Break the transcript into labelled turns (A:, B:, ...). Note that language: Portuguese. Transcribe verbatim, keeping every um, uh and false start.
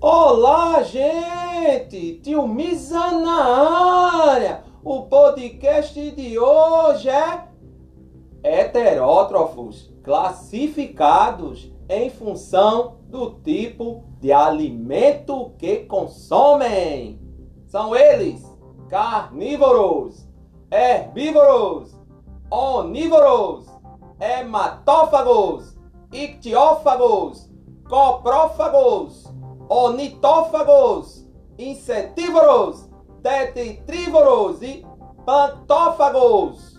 A: Olá, gente! Tio Misa na área! O podcast de hoje é heterótrofos classificados em função do tipo de alimento que consomem. São eles carnívoros, herbívoros, onívoros, hematófagos, ictiófagos, coprófagos, onitófagos, insetívoros, tetritrívoros e pantófagos.